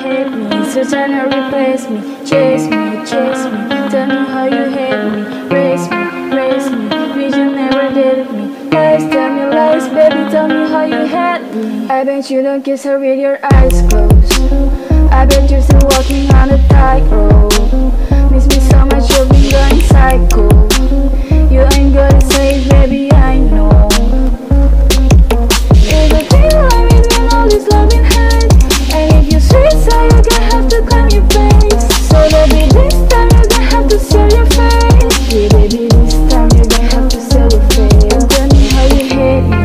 hate me, so trying to replace me. Chase me, chase me, tell me how you hate me. Raise me, vision never did me. Lies, tell me lies, baby, tell me how you hate me. I bet you don't kiss her with your eyes closed. I bet you're still walking on a tightrope. Miss me so much, you've been going psycho. You ain't gonna say, baby, I know. There's a thin line between all this love and hate. And if you're sweet, so you're gonna have to climb your face. So baby, this time you're gonna have to sell your face. Yeah, baby, this time you're gonna have to sell your face. And tell me how you hate me.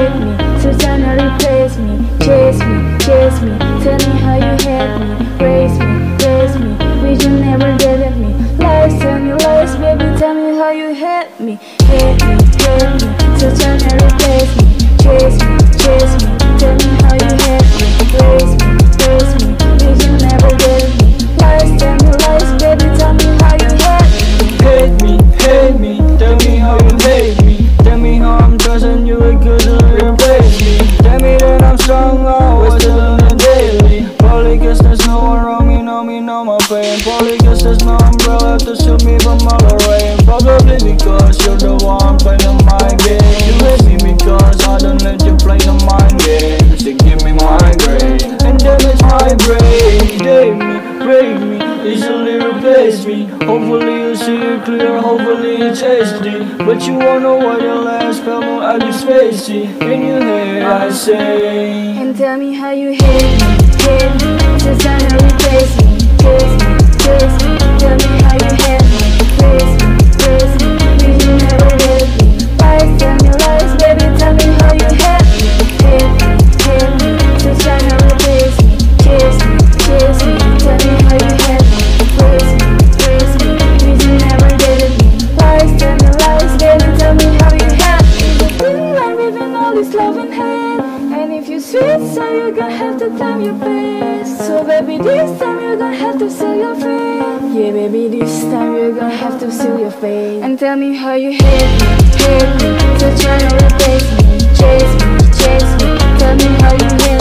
So trying to replace me. Chase me, tell me how you hate me. Raise me, vision never did at me. Lies, tell me lies, baby, tell me how you hate me. Hate me, so trying to replace me. Chase me, tell me how you hate me. Raise me, vision never did at me. Lies, tell me lies, baby, tell me how you hate me. Hate me, tell me how you hate me. Tell me how I'm trusting you because you replace me. Tell me that I'm strong, always still on the daily. Probably guess there's no one wrong, you know me, know my pain. Probably guess there's no umbrella to shield me from all the rain. Probably because you're the one playing my game. You hate me because I don't let you play the mind games. You give me migraine and damage my brain. Date me, break me, easily replace me. Hopefully you see it clear, hopefully it's HD. But you wonder why your last fell more at least facey. In your head I say, and tell me how you hate me. Just trying to replace me. Chase me, tell me how you hate me. Raise me, vision never did me. Lies, tell me lies, baby, tell me how you hate me. Hate me, just trying to replace me. Chase me, tell me how you hate me. Raise me, vision never did me. Lies, tell me lies, baby, tell me how you hate me. The thin line between all this love and hate. And if you're sweet, so you're gonna have to climb your face. So baby, this time you're gonna have to sell your face. Yeah, baby, this time you're gonna have to sell your face. And tell me how you hate me. So try to replace me. Chase me, tell me how you hate me.